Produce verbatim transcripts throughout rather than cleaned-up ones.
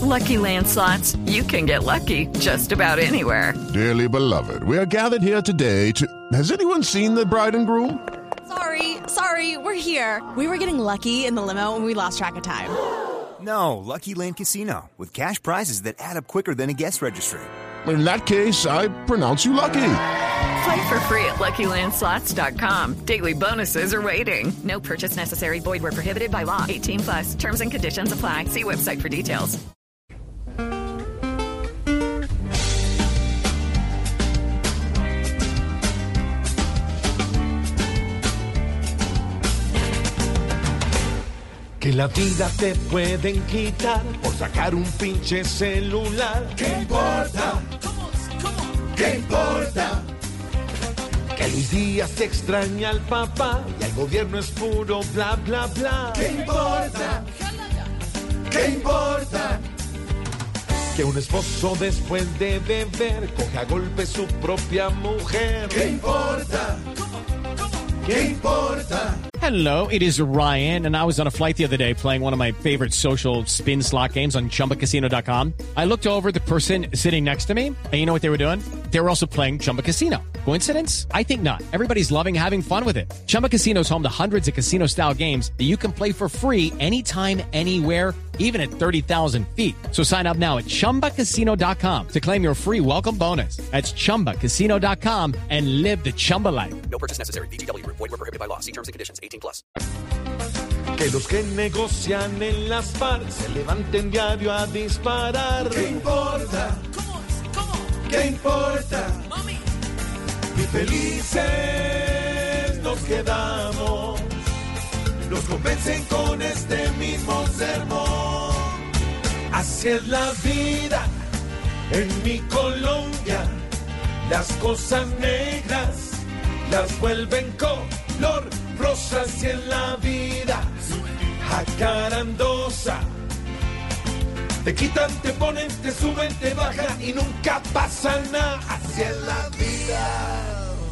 Lucky Land Slots, you can get lucky just about anywhere. Dearly beloved, we are gathered here today to... Has anyone seen the bride and groom? Sorry, sorry, we're here. We were getting lucky in the limo and we lost track of time. No, Lucky Land Casino, with cash prizes that add up quicker than a guest registry. In that case, I pronounce you lucky. Play for free at Lucky Land Slots dot com. Daily bonuses are waiting. No purchase necessary. Void where prohibited by law. eighteen plus. Terms and conditions apply. See website for details. Que la vida te pueden quitar por sacar un pinche celular. ¿Qué importa? ¿Qué importa? Que Luis Díaz extraña al papá y el gobierno es puro bla bla bla. ¿Qué importa? ¿Qué importa? Que un esposo después de beber coge a golpe su propia mujer. ¿Qué importa? ¿Qué importa? Hello, it is Ryan, and I was on a flight the other day playing one of my favorite social spin slot games on Chumba Casino dot com. I looked over at the person sitting next to me, and you know what they were doing? They were also playing Chumba Casino. Coincidence? I think not. Everybody's loving having fun with it. Chumba Casino is home to hundreds of casino-style games that you can play for free anytime, anywhere, even at thirty thousand feet. So sign up now at Chumba Casino dot com to claim your free welcome bonus. That's Chumba Casino dot com and live the Chumba life. No purchase necessary. V G W. Void where prohibited by law. See terms and conditions. eighteen plus. Que los que negocian en las FARC se levanten diario a disparar. ¿Qué importa? ¿Qué importa? Y felices nos quedamos. Nos convencen con este mismo sermón. Así es la vida en mi Colombia. Las cosas negras las vuelven color rosa. Así es la vida jacarandosa. Te quitan, te ponen, te suben, te bajan y nunca pasa nada. Así es la vida.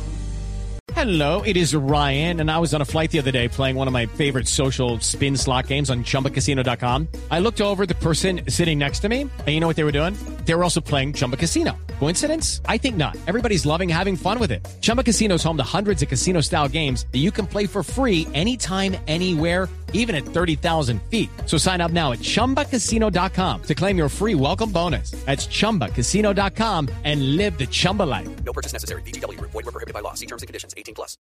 Hello, it is Ryan, and I was on a flight the other day playing one of my favorite social spin slot games on Chumba Casino dot com. I looked over at the person sitting next to me, and you know what they were doing? They were also playing Chumba Casino. Coincidence? I think not. Everybody's loving having fun with it. Chumba Casino is home to hundreds of casino-style games that you can play for free anytime, anywhere, even at thirty thousand feet. So sign up now at Chumba Casino dot com to claim your free welcome bonus. That's Chumba Casino dot com and live the Chumba life. No purchase necessary. V G W. Void where prohibited by law. See terms and conditions. eighteen plus.